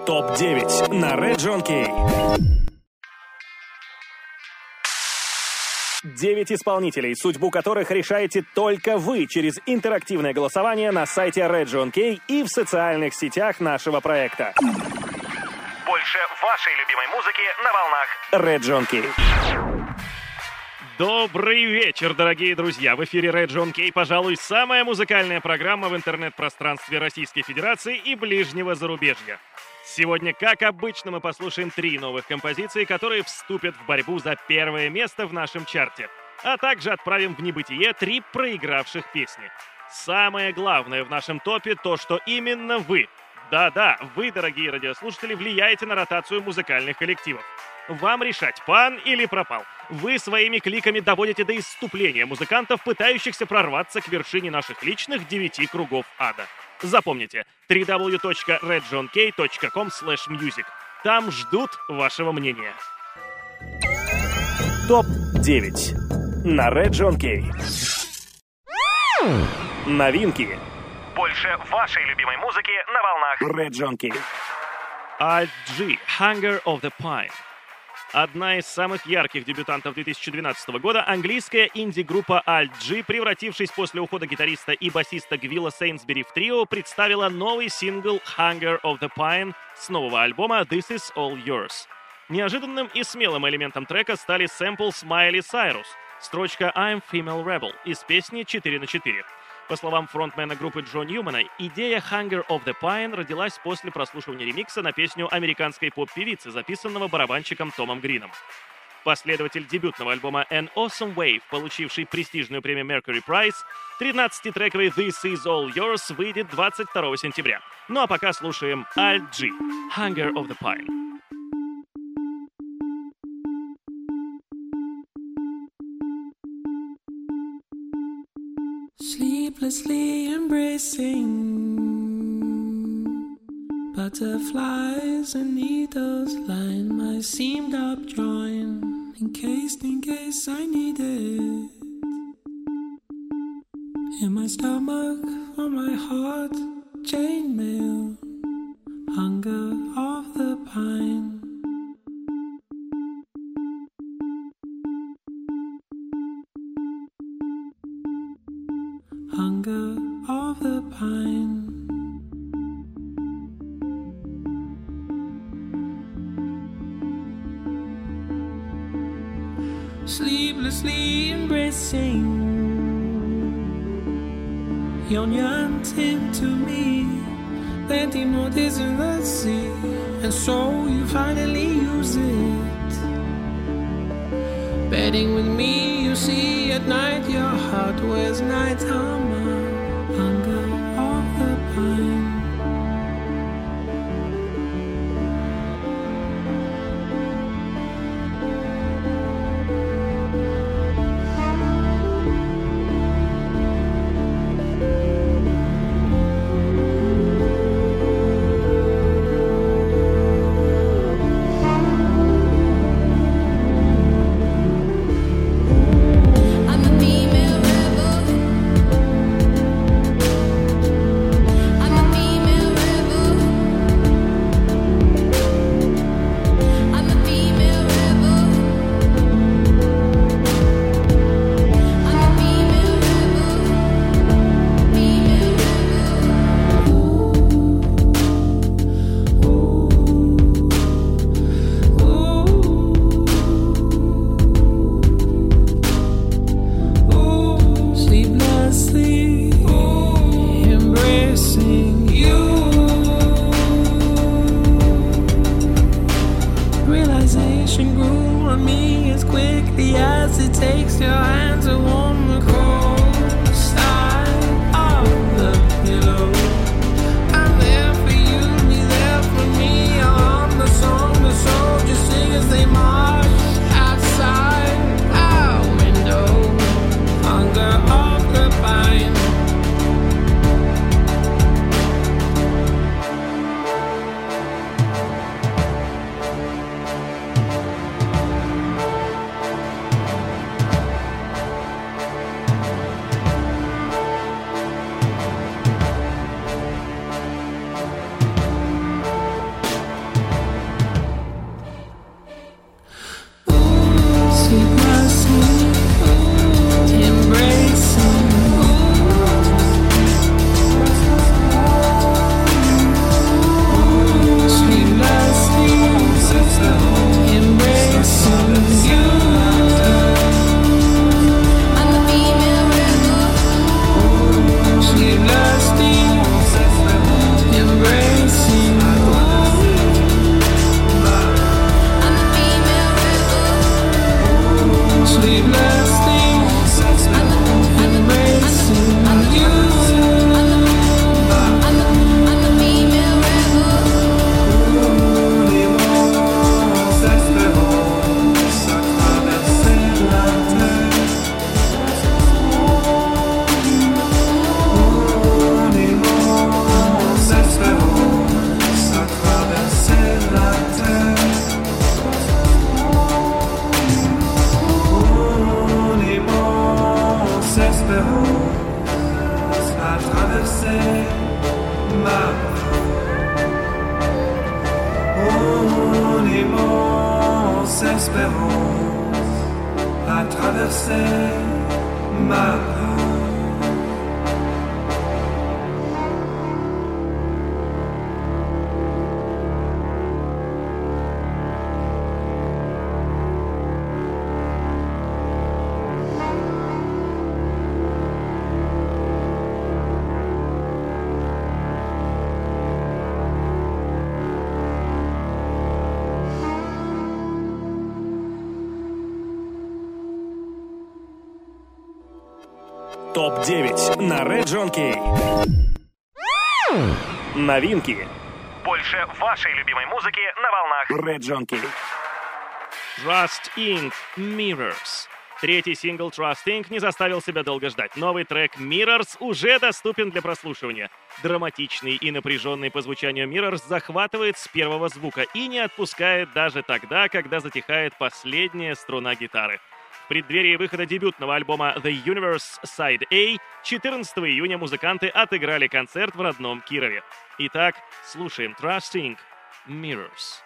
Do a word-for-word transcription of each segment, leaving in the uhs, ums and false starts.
топ девять на Red John Kay. Девять исполнителей, судьбу которых решаете только вы через интерактивное голосование на сайте Red John Kay и в социальных сетях нашего проекта. Больше вашей любимой музыки на волнах Red John Kay. Добрый вечер, дорогие друзья! В эфире Red John Kay, пожалуй, самая музыкальная программа в интернет-пространстве Российской Федерации и ближнего зарубежья. Сегодня, как обычно, мы послушаем три новых композиции, которые вступят в борьбу за первое место в нашем чарте, а также отправим в небытие три проигравших песни. Самое главное в нашем топе то, что именно вы, да-да, вы, дорогие радиослушатели, влияете на ротацию музыкальных коллективов. Вам решать, пан или пропал. Вы своими кликами доводите до исступления музыкантов, пытающихся прорваться к вершине наших личных девяти кругов ада. Запомните, дабл ю дабл ю дабл ю точка ред джон кей точка ком слэш мьюзик. Там ждут вашего мнения. топ девять на Red John Kay. Новинки. Больше вашей любимой музыки на волнах Red John Kay. Alt G, Hunger of the Pine. Одна из самых ярких дебютантов две тысячи двенадцатого года, английская инди-группа Alt G, превратившись после ухода гитариста и басиста Гвилла Сейнсбери в трио, представила новый сингл Hunger of the Pine с нового альбома This Is All Yours. Неожиданным и смелым элементом трека стали сэмпл Смайли Сайрус, строчка I'm Female Rebel из песни четыре на четыре. По словам фронтмена группы Джо Ньюмана, идея Hunger of the Pine родилась после прослушивания ремикса на песню американской поп-певицы, записанного барабанщиком Томом Грином. Последователь дебютного альбома An Awesome Wave, получивший престижную премию Mercury Prize, тринадцатитрековый This Is All Yours выйдет двадцать второго сентября. Ну а пока слушаем Alt G, Hunger of the Pine. Sleeplessly embracing butterflies and needles line my seamed up joint, encased in case I need it. In my stomach, on my heart, chainmail, hunger of the pine. Hunger of the pine. Sleeplessly embracing, yon yearning to me, plenty more days in the sea, and so you finally use it. Bedding with me, you see, at night your heart wears night armor. Hunger of the pine. I'm a female rebel. espérance à traverser ma peau. топ девять на Region K. Новинки. Больше вашей любимой музыки на волнах Region K. Trust инкорпорейтед. Mirrors. Третий сингл Trust инкорпорейтед не заставил себя долго ждать. Новый трек Mirrors уже доступен для прослушивания. Драматичный и напряженный по звучанию Mirrors захватывает с первого звука и не отпускает даже тогда, когда затихает последняя струна гитары. В преддверии выхода дебютного альбома The Universe Side A четырнадцатого июня музыканты отыграли концерт в родном Кирове. Итак, слушаем Trust инкорпорейтед. Mirrors.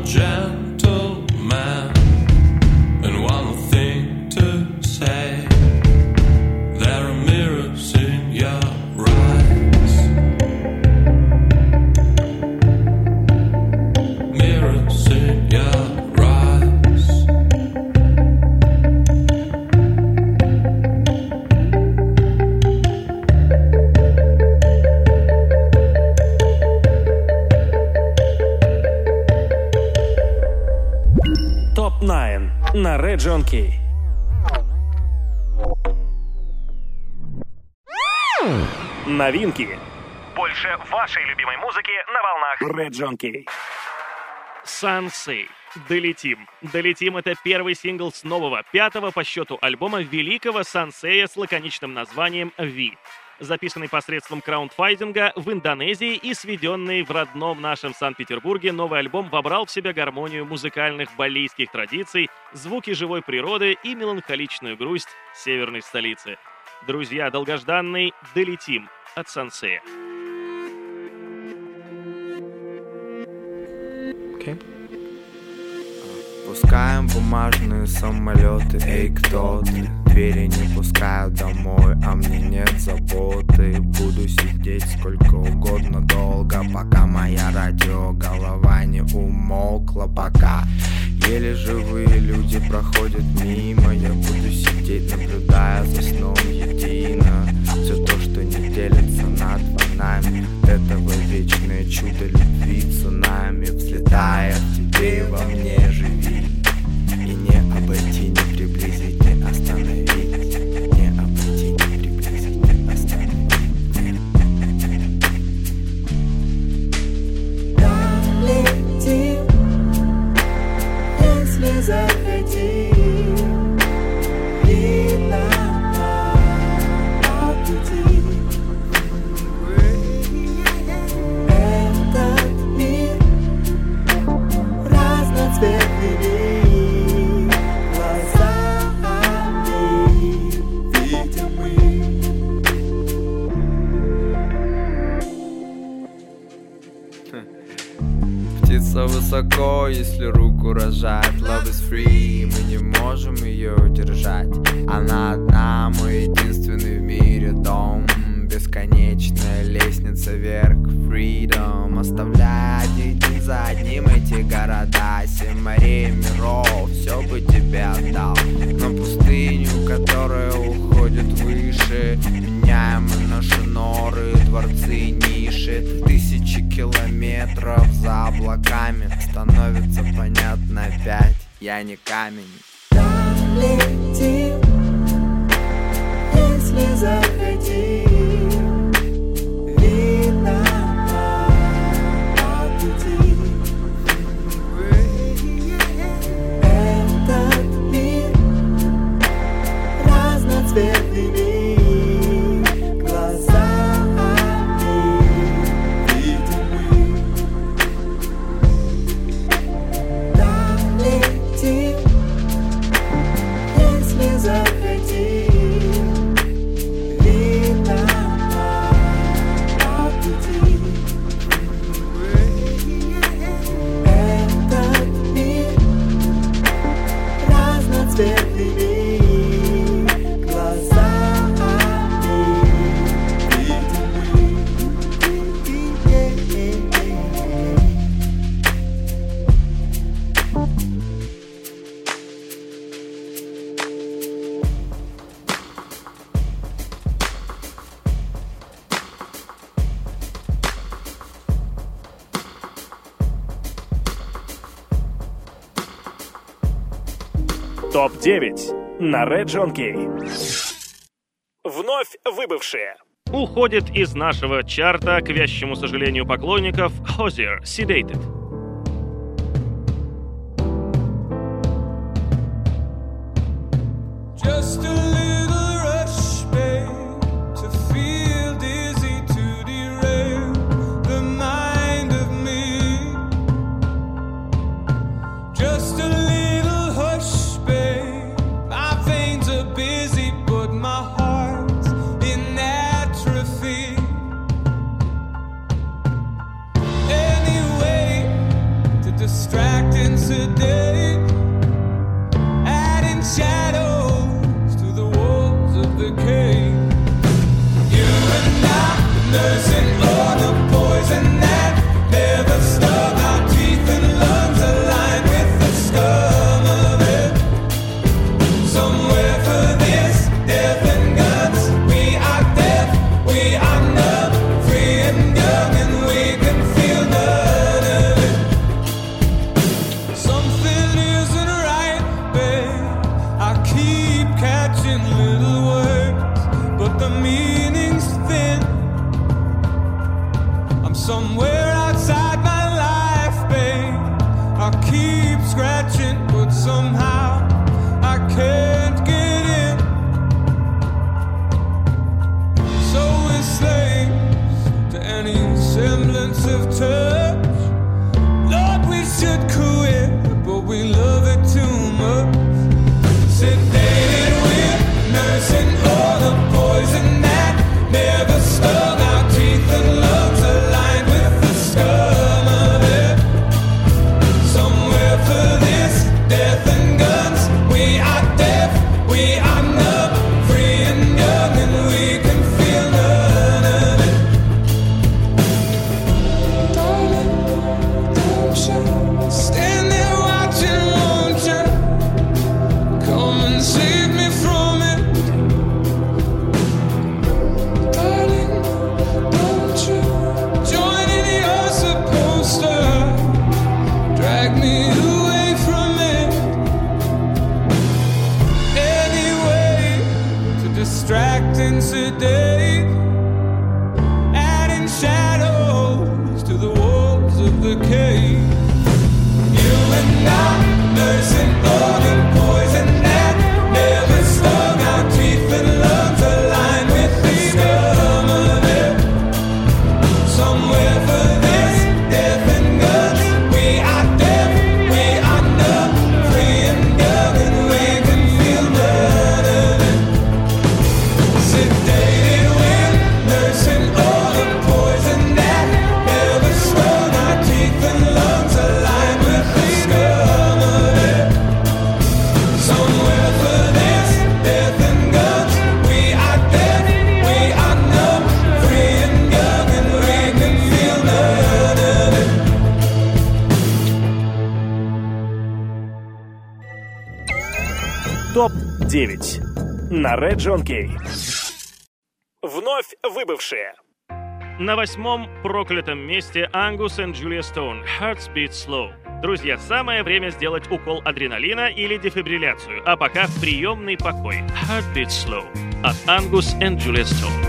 gentleman and one more thing to say. There are mirrors in your eyes, mirrors in your eyes. топ девять на Region K. Новинки. Больше вашей любимой музыки на волнах Region K. Sansei. Долетим. Долетим — это первый сингл с нового, пятого по счету альбома великого Сансея с лаконичным названием «Ви». Записанный посредством краундфандинга в Индонезии и сведенный в родном нашем Санкт-Петербурге, новый альбом вобрал в себя гармонию музыкальных балийских традиций, звуки живой природы и меланхоличную грусть северной столицы. Друзья, долгожданный «Долетим» от Сансея. Okay. Пускаем бумажные самолеты, эй, кто ты? Двери не пускают домой, а мне нет заботы. Буду сидеть сколько угодно долго, пока моя радиоголова не умолкла. Пока еле живые люди проходят мимо, я буду сидеть, наблюдая за сном едино. Все то, что не делится на два нами, этого вечное чудо любви цунами. Взлетая в тебе и во мне живи, и не обойти, не приблизить, не остановить, не обойти, не приблизить, не остановить. Долетим, если захотим, видно по пути. Этот мир разноцветный. Птица высоко, если руку рожать. Love is free, мы не можем ее удержать. Она одна, мой единственный в мире дом. Бесконечная лестница вверх, freedom. Оставляя один за одним эти города, семь морей, миров, все бы тебе отдал. На пустыню, которая уходит выше, меняем мы наши норы, дворцы, ниши. Тысячи километров за облаками, становится понятно опять, я не камень. Долетим, если захотим, видно по пути. Этот мир разноцветный. топ девять на Region K. Вновь выбывшие. Уходит из нашего чарта, к вящему сожалению поклонников, Hozier, Sedated. Just a little rush, babe, to feel dizzy, to derail the mind of me. Just a little hush, babe, my veins are busy, but my heart's in atrophy. Any way to distract it. sedate, adding shadows to the walls of the cave. You and I, nursing all the poison that never stung our teeth and lungs, aligned with the scum of it. Somewhere for this death and guns, we are deaf, we are numb, free and young, and we can feel none of it. Something isn't right, babe. I keep catching little words, but the meaning's thin. I'm somewhere outside my life, babe. I keep scratching, but somehow I can't get in. So we're slaves to any semblance of touch. Lord, we should quit, but we love it too much. Sedated, we're nursing all the poison that never stung our teeth and lungs, aligned with the scum of it. Somewhere for this death and guns, we are deaf, we are numb, free and young, and we can feel none of it. Darling, don't you stand there watching, won't you? Come and save me from it. Darling, don't you join in, you're supposed to drag me away from it. Any way to distract and sedate, adding shadows to the walls of the cave. You and I, nursing all the poison that never stung our teeth and lungs, aligned with the scum of it. Somewhere for this death and guns, we are deaf, we are numb, free and young, and we can feel none of it. Sedated, we're nursing all the poison that never stung our teeth and lungs, aligned with the scum of it. Somewhere for this death and guns, we are deaf, we are numb, free and young, and we can feel none of it. топ девять на Red John Kay. Вновь выбывшие. На восьмом проклятом месте Angus and Julia Stone «Hearts Beat Slow». Друзья, самое время сделать укол адреналина или дефибрилляцию, а пока в приемный покой. «Heart Beat Slow» от Angus and Julia Stone.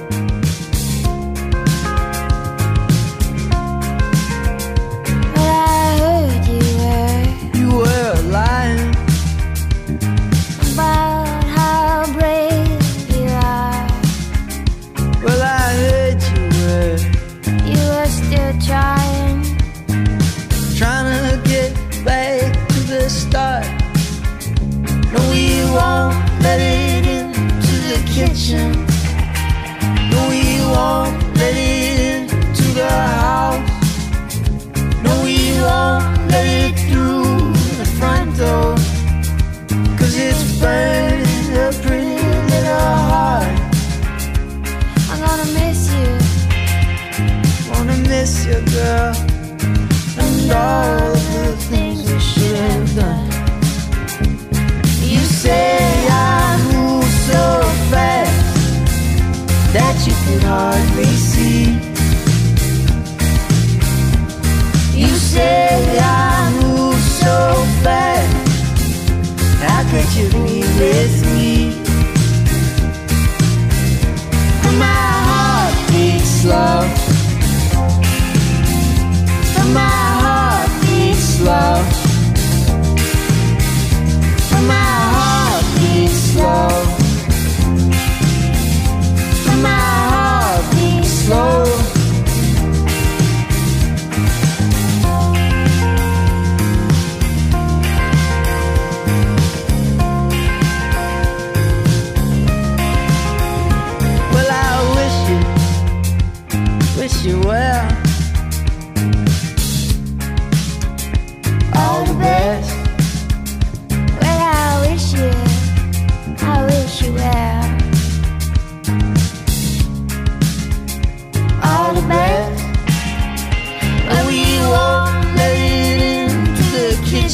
I heard you were You were lying. about how brave you are. Well, I heard you were You were still trying. trying to get back to the start. No, we won't let it into the kitchen. No, we won't let it into the house. No, we won't let it through the front door. Cause it's burning a pretty little heart. I'm gonna miss you. Wanna miss you, girl, and all of the things we should have done. You say I move so fast that you could hardly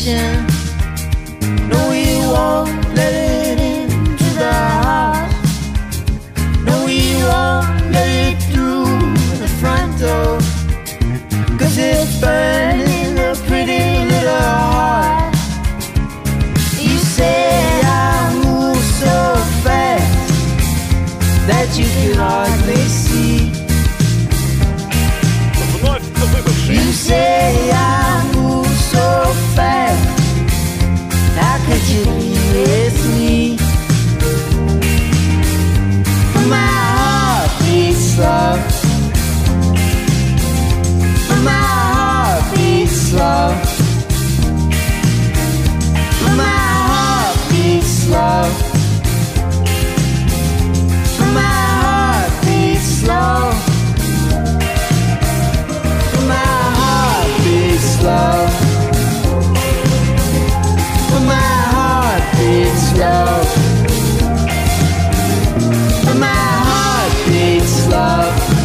station. No, we won't let it into the heart. No, we won't let it through the front door. 'Cause it's burning a pretty little heart. You say I move so fast that you can hardly see. Вновь выбывший. You say I move so fast. How could you be with me? My heart beats slow. My heart beats slow. My heart beats slow. My heart beats slow. My heart beats slow. My heart beats slow. My heart beats slow.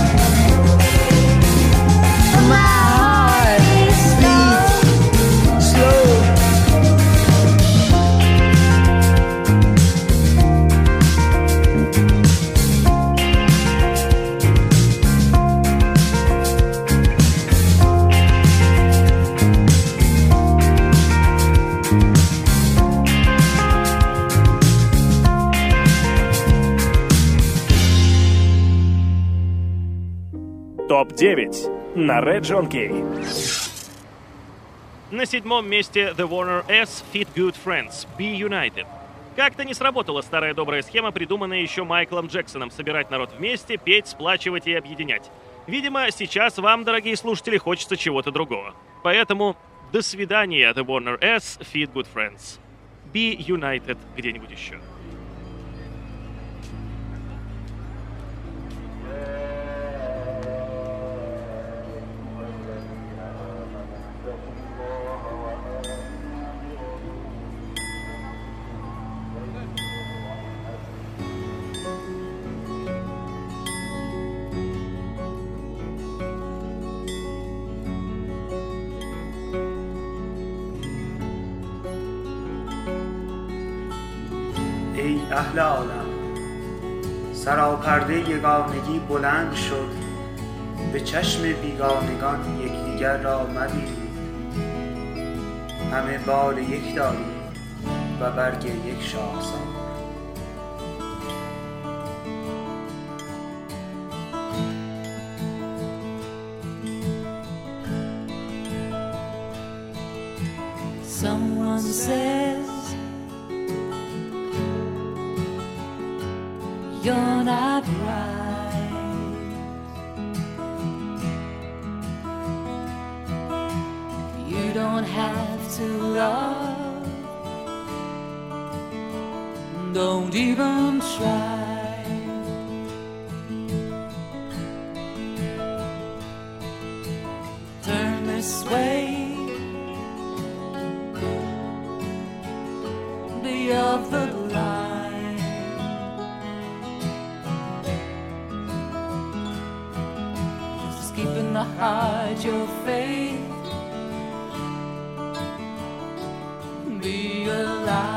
My heart beats slow. топ девять на Region K. На седьмом месте The Warner S Feat Good Friends Be United. Как-то не сработала старая добрая схема, придуманная еще Майклом Джексоном: собирать народ вместе, петь, сплачивать и объединять. Видимо, сейчас вам, дорогие слушатели, хочется чего-то другого. Поэтому до свидания, The Warner S Feat Good Friends. Be United где-нибудь еще. ای اهل عالم، سراپرده یگانگی بلند شد، به چشم بیگانگان یکدیگر را مبینید. همه بال یک داریم و برگ یک شاخسار. Someone says you're not right. You don't have to love. Don't even try. Turn this way. Be of the line. Just keeping the heart your faith. Be alive.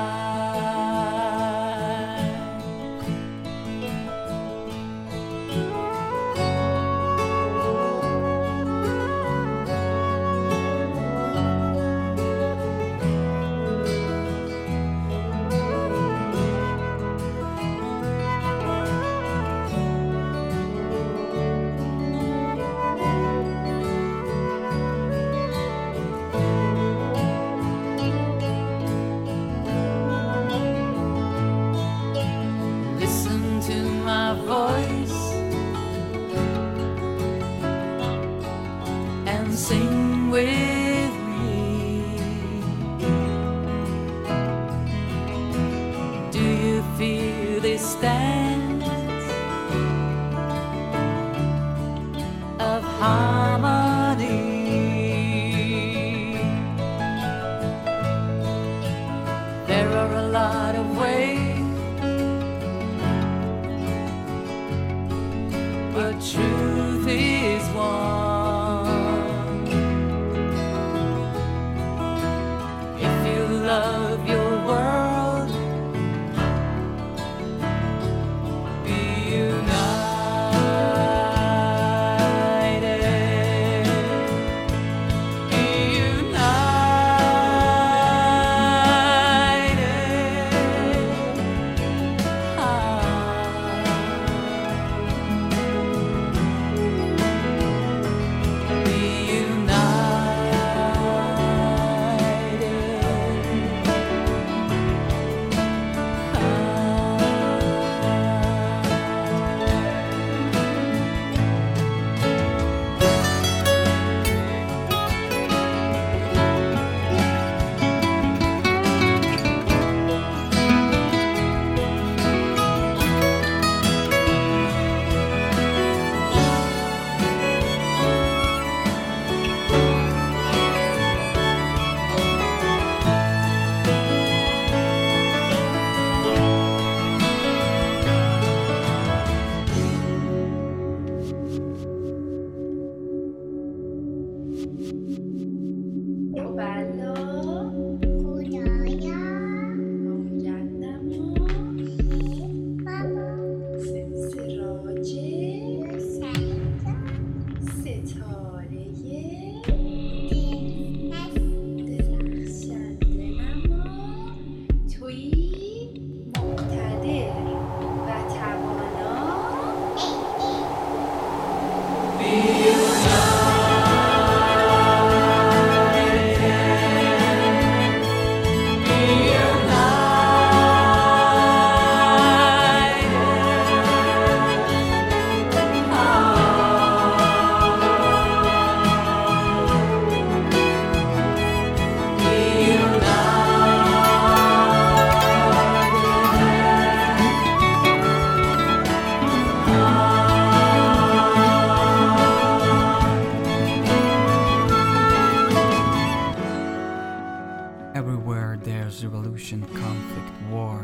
Everywhere there's revolution, conflict, war.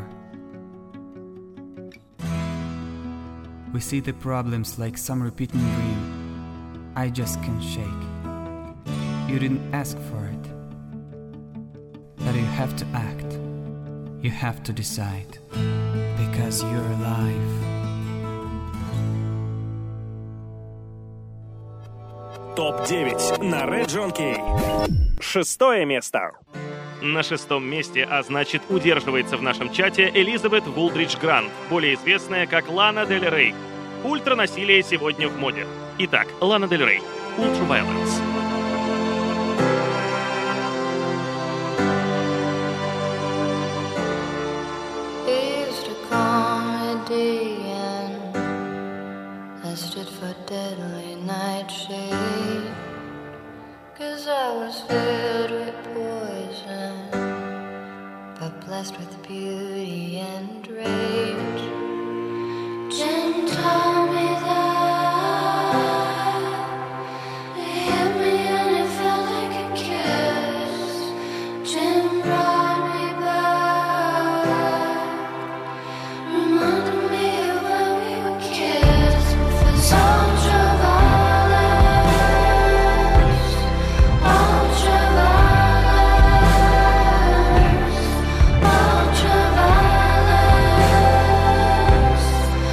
We see the problems like some repeating dream. I just can't shake. You didn't ask for it. That you have to act. You have to decide. Because you're alive. топ девять на Region K. Шестое место. На шестом месте, а значит удерживается в нашем чате, Элизабет Вулдридж Грант, более известная как Лана Дель Рей. Ультранасилие сегодня в моде. Итак, Лана Дель Рей. Ultraviolence. I stood for deadly nightshade, 'cause I was filled with poison, but blessed with beauty and rage. Jim told me that he hit me and it felt like a kiss. Jim brought me back, reminded me of when we were kids. Ultraviolence, ultraviolence, ultraviolence,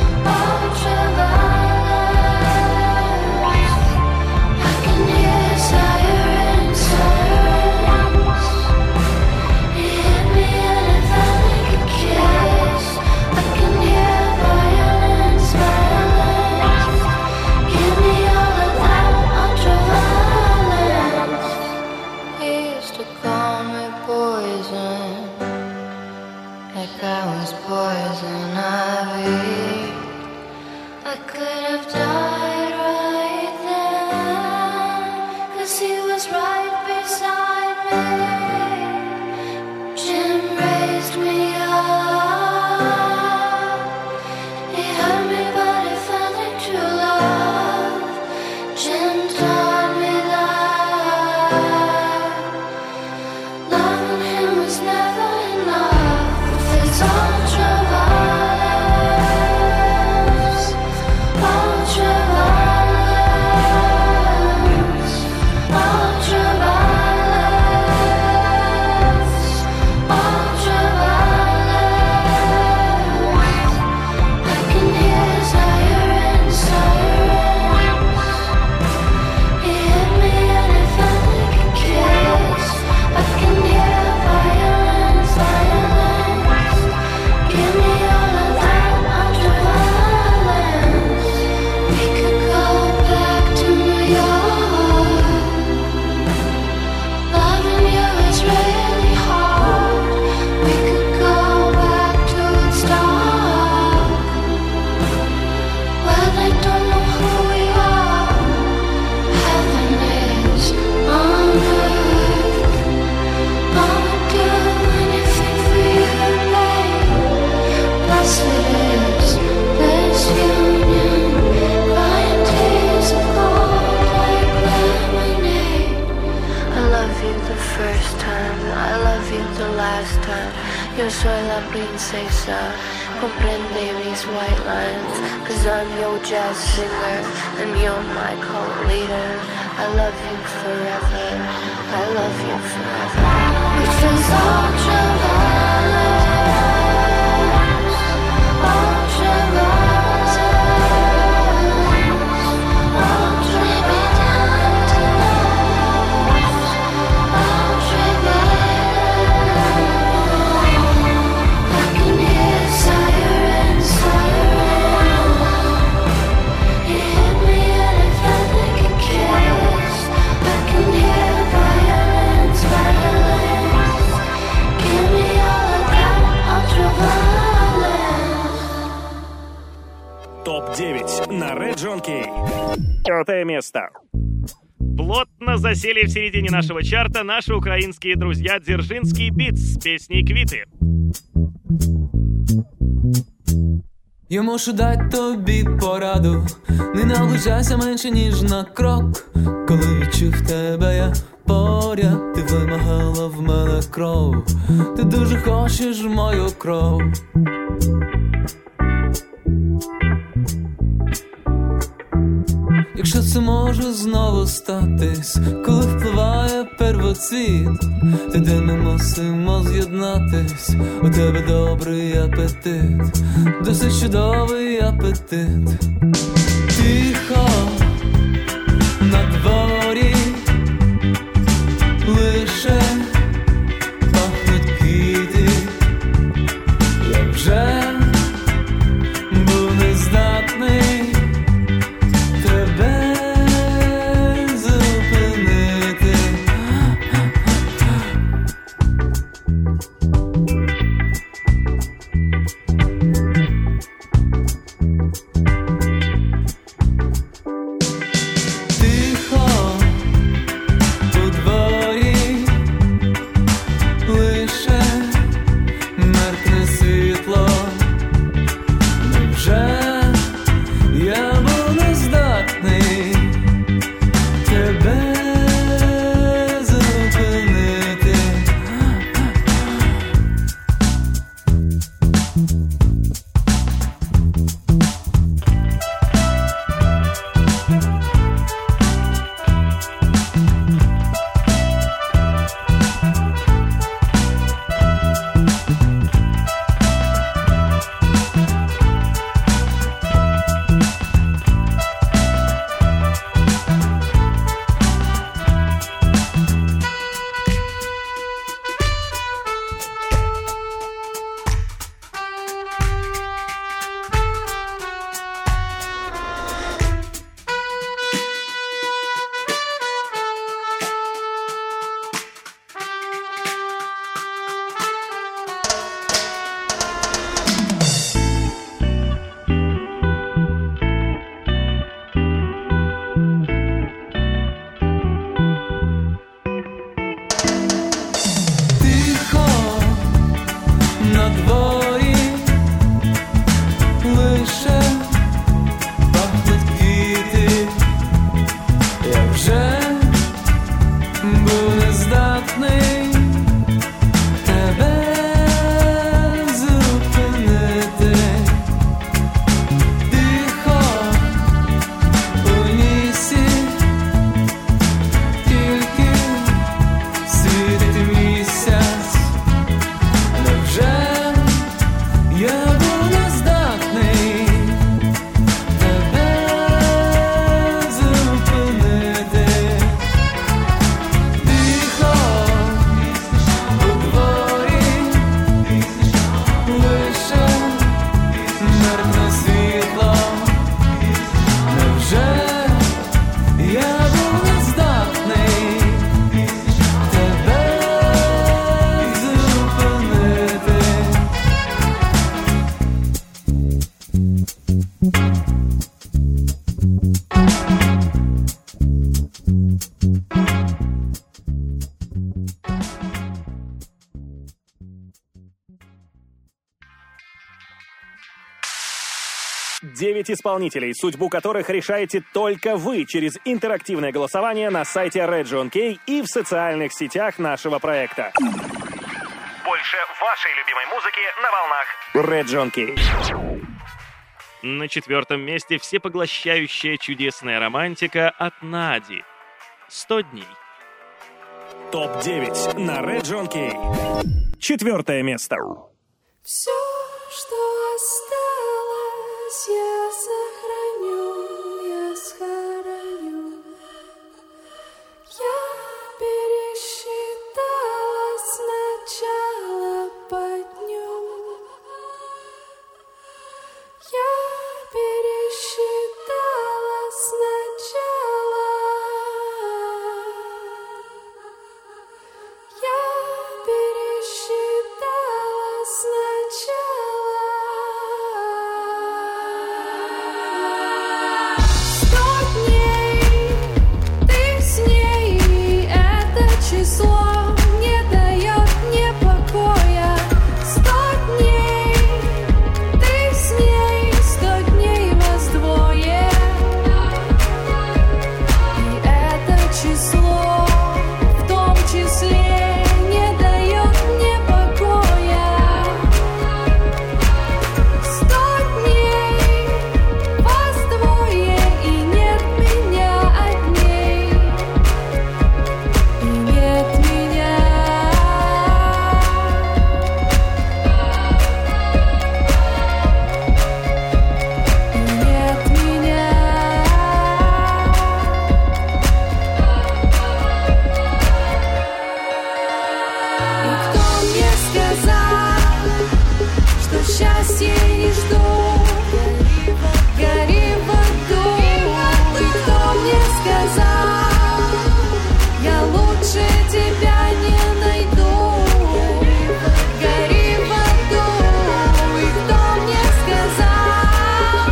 ultraviolence. I can hear sirens, sirens. He hit me and it felt like a kiss. I can hear violence, violence. Give me all of that ultraviolence. He used to call me poison, like I was poison ivy. I could have died right then, 'cause he was right beside me. Jim raised me up. He hurt me but it felt like true love. Jim taught me that loving him was never enough. It's ultraviolence, ultraviolence, ultraviolence, ultraviolence. I can hear sirens, sirens. He hit me and it felt like a kiss. I can hear violence, violence. Give me all of that ultraviolence. We could go back to New York. Loving you is really hard. We could go back to Woodstock. Well, they don't know who we are. Heaven is on earth. I would do anything for you, babe. Blessed is this union. Crying tears of gold like lemonade. I love you the first time, I love you the last time. Yo soy la princesa, comprende mis white lines. 'Cause I'm your jazz singer and you're my cult leader. I love you forever, I love you forever. Which is ultraviolence, ultraviolence, ultraviolence, ultraviolence. I can hear sirens, sirens. He hit me and it felt like a kiss. I can hear violence, violence. Give me all of that ultraviolence. топ девять на Region K. Пятое место. Плотно засели в середине нашего чарта наши украинские друзья Дзержинский Битс с песней «Квіти». Я мушу дати тобі пораду, не наближайся менше, ніж на крок. Коли відчув тебе я, поряд, ти вимагала в мене кров, ти дуже хочеш мою кров. Якщо це може знову статись, коли впливає первоцвіт, тоді ми мусимо з'єднатись. У тебе добрий апетит, досить чудовий апетит. Тихо на дворі лише пахнуть квіти. Я вже був нездатний тебе зупинити. Тихо у дворі лише меркне світло. Невже я був нездатний тебе зупинити? Тихо на дворі лише пахнуть квіти. Я вже був нездатний тебе зупинити. Тихо у лісі тільки світить місяць. Невже я був нездатний тебе зупинити? Тихо у дворі лише меркне світло. Невже я був нездатний тебе зупинити? Девять исполнителей, судьбу которых решаете только вы через интерактивное голосование на сайте Region K и в социальных сетях нашего проекта. Больше вашей любимой музыки на волнах Region K. На четвертом месте всепоглощающая чудесная романтика от Нади. «сто дней». топ девять на Region K. Четвертое место. Все, что осталось, я сохраню, я схороню. Я пересчитала сначала по дню. Я пересчитала сначала. Я пересчитала сначала. счастье и жду. Гори в аду. И кто мне сказал, я лучше тебя не найду. Гори в аду. И кто мне сказал,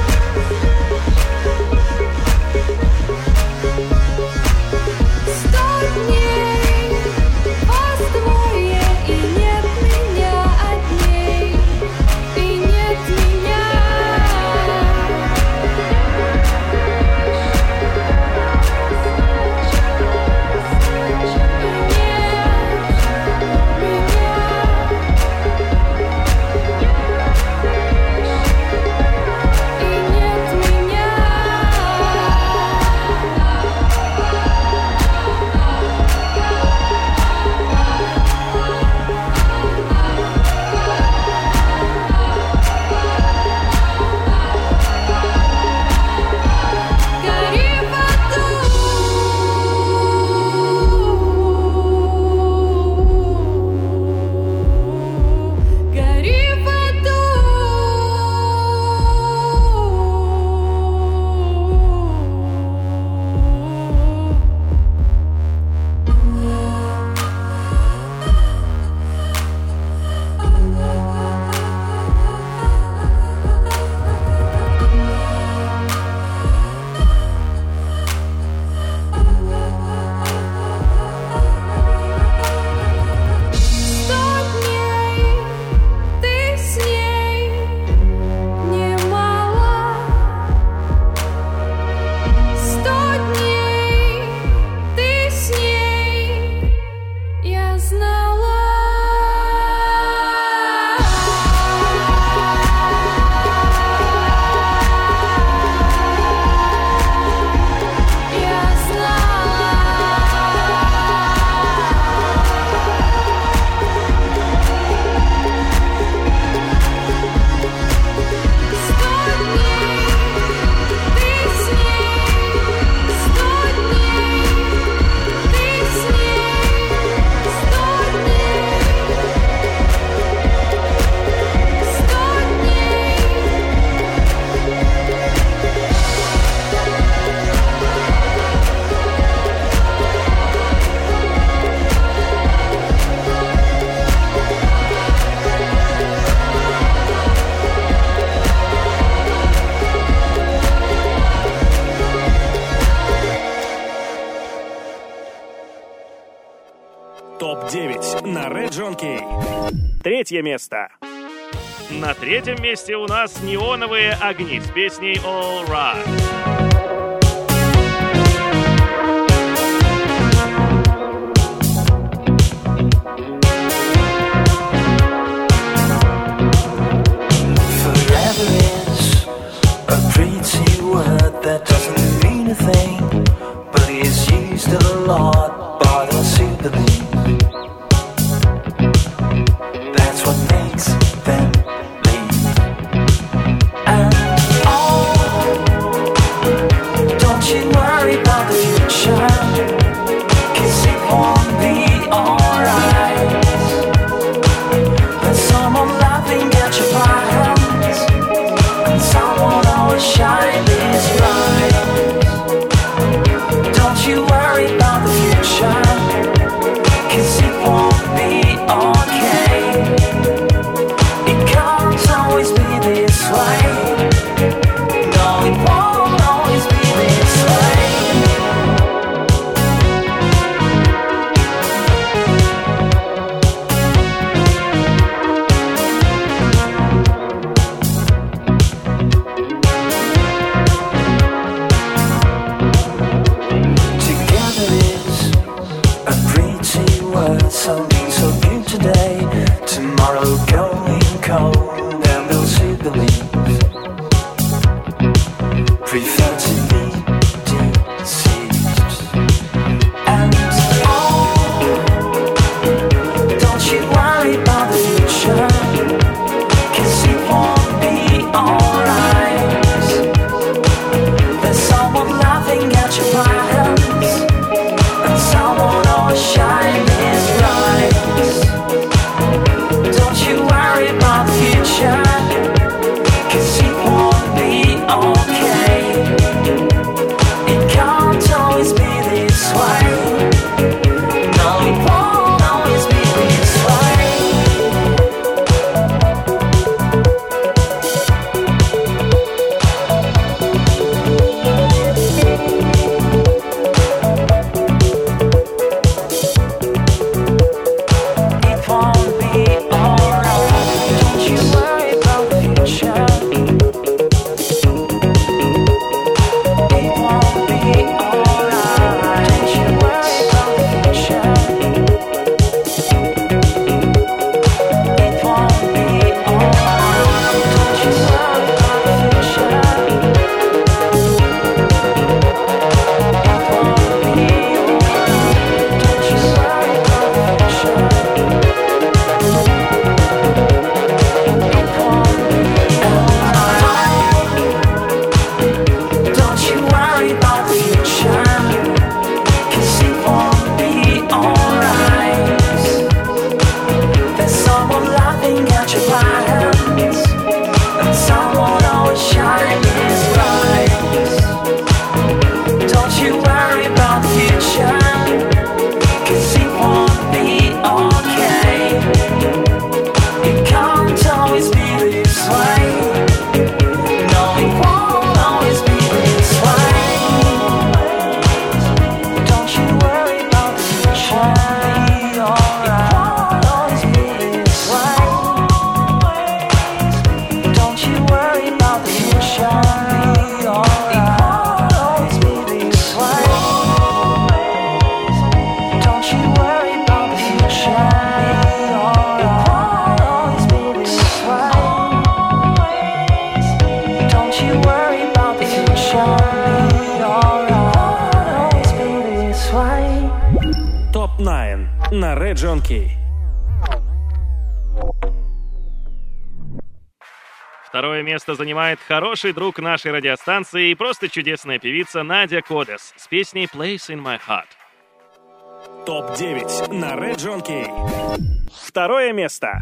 сто дней вас двое, и нет меня одней, и нет меня. топ девять на Region K. Третье место. На третьем месте у нас «Неоновые огни» с песней «All Right». That doesn't mean a thing, but is used a lot by those who believe. That's what makes them leave. And oh, don't you worry about the future, 'cause it won't be alright. There's someone laughing at your violence, and someone always shining. Don't you worry about the future, 'cause it won't be okay. It can't always be this way. No, it won't always be this way. Something so good today, tomorrow going cold, and those who believe prefer to be deceived. And oh, don't you worry about the future, 'cause it won't be alright. There's someone laughing at your violence, and someone always shining. Don't you worry about the future. John Kay. Второе место занимает хороший друг нашей радиостанции и просто чудесная певица Надя Кодес с песней «Place in my heart». топ девять на Red John Kay. Второе место.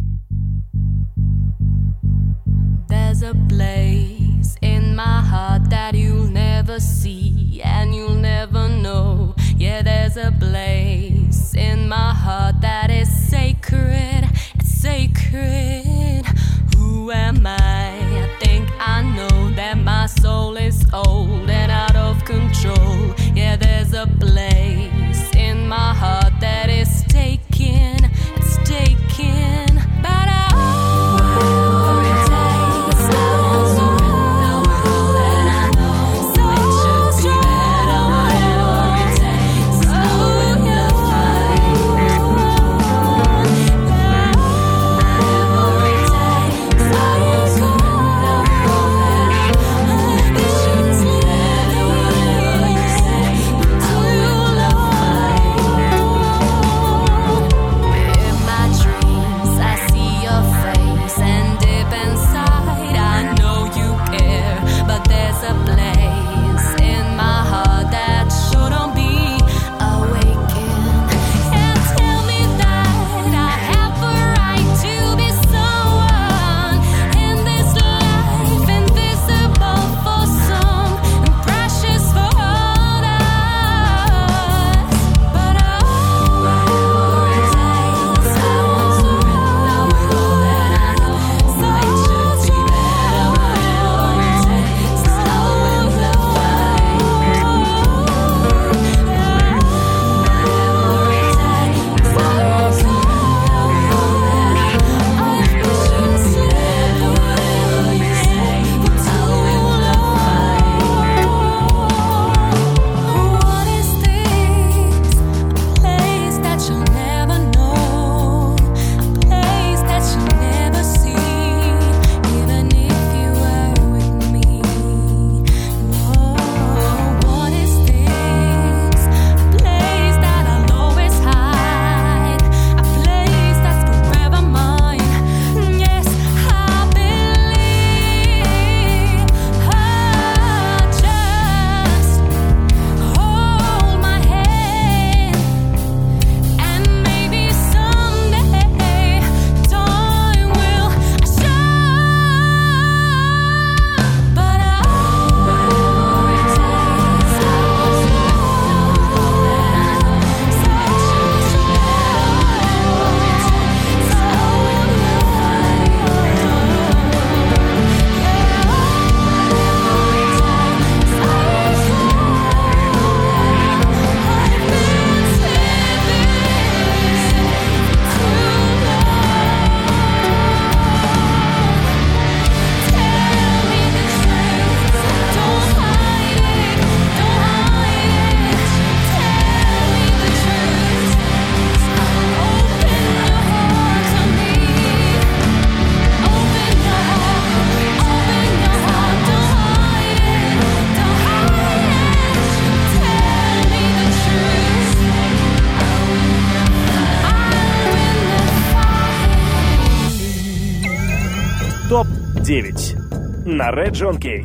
There's a place in my heart that you'll never see and you'll never know. Yeah, there's a place in my heart that is sacred. It's sacred. Who am I? I think I know that my soul is old and out of control. Yeah, there's a place in my heart that is taken. It's taken. But I топ девять на Red John Kay.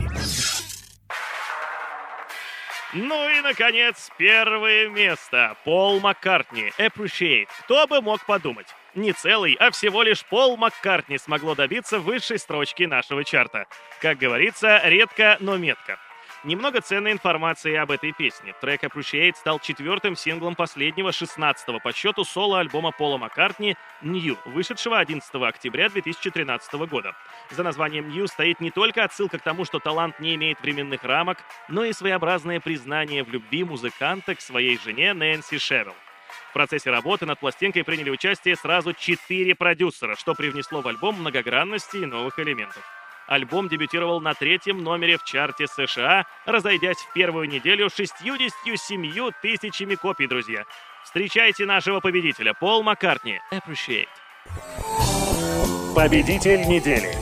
Ну и, наконец, первое место. Пол Маккартни, Appreciate. Кто бы мог подумать? Не целый, а всего лишь Пол Маккартни смогло добиться высшей строчки нашего чарта. Как говорится, редко, но метко. Немного ценной информации об этой песне. Трек Appreciate стал четвертым синглом последнего, шестнадцатого по счету соло-альбома Пола Маккартни New, вышедшего одиннадцатого октября две тысячи тринадцатого года. За названием New стоит не только отсылка к тому, что талант не имеет временных рамок, но и своеобразное признание в любви музыканта к своей жене Нэнси Шевелл. В процессе работы над пластинкой приняли участие сразу четыре продюсера, что привнесло в альбом многогранности и новых элементов. Альбом дебютировал на третьем номере в чарте США, разойдясь в первую неделю шестьюдесятью семью тысячами копий, друзья. Встречайте нашего победителя, Пол Маккартни, Appreciate. Победитель недели.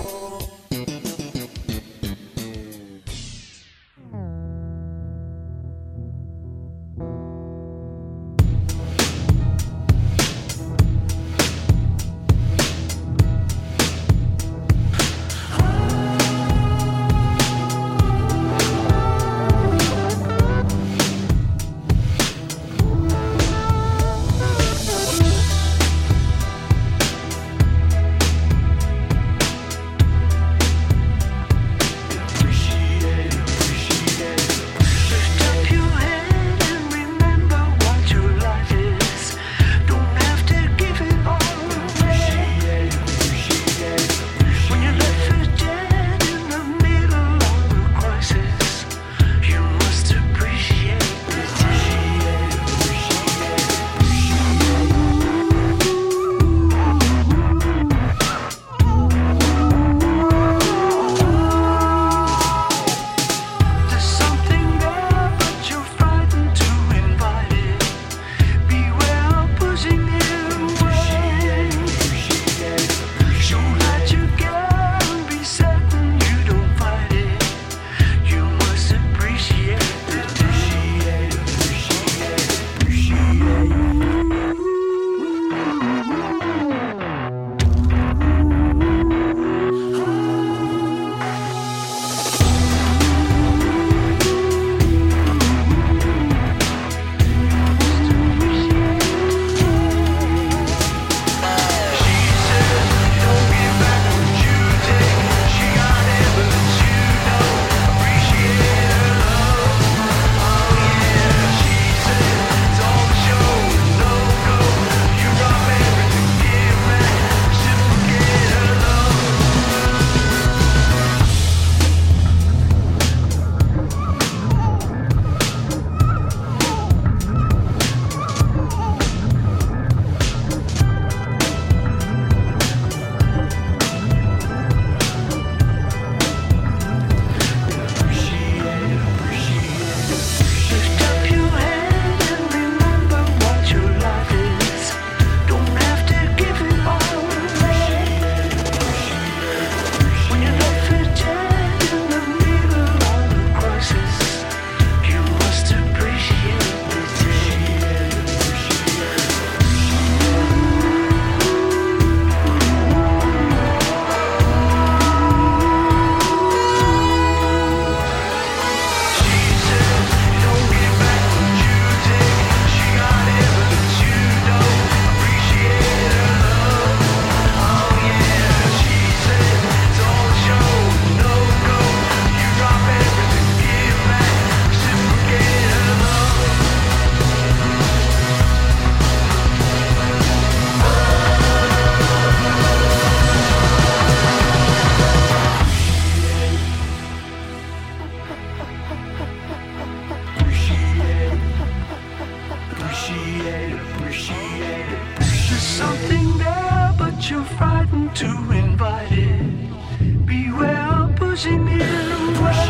too invited. Beware of pushing it away.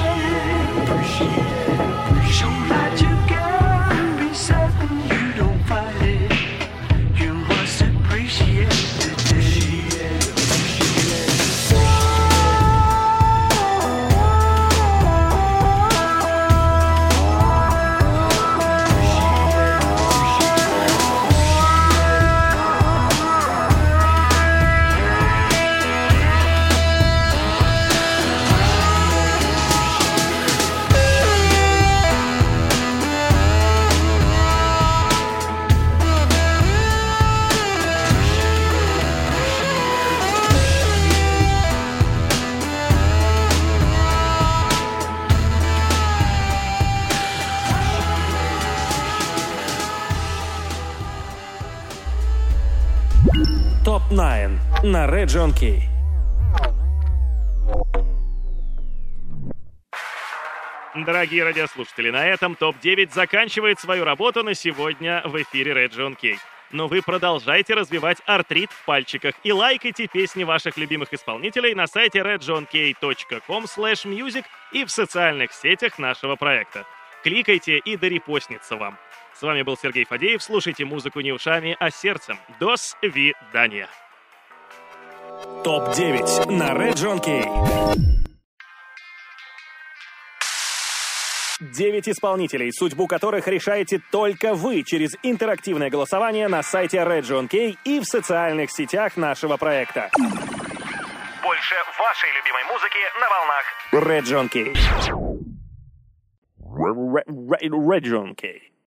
Show that you can be sad when you don't fight it. You must appreciate the топ девять на Region K. Дорогие радиослушатели, на этом топ девять заканчивает свою работу на сегодня в эфире Region K. Но вы продолжайте развивать артрит в пальчиках и лайкайте песни ваших любимых исполнителей на сайте region k точка com слэш music и в социальных сетях нашего проекта. Кликайте, и да репостнется вам. С вами был Сергей Фадеев. Слушайте музыку не ушами, а сердцем. До свидания. топ девять на Region K. Девять исполнителей, судьбу которых решаете только вы через интерактивное голосование на сайте Region K и в социальных сетях нашего проекта. Больше вашей любимой музыки на волнах Region K. Region K.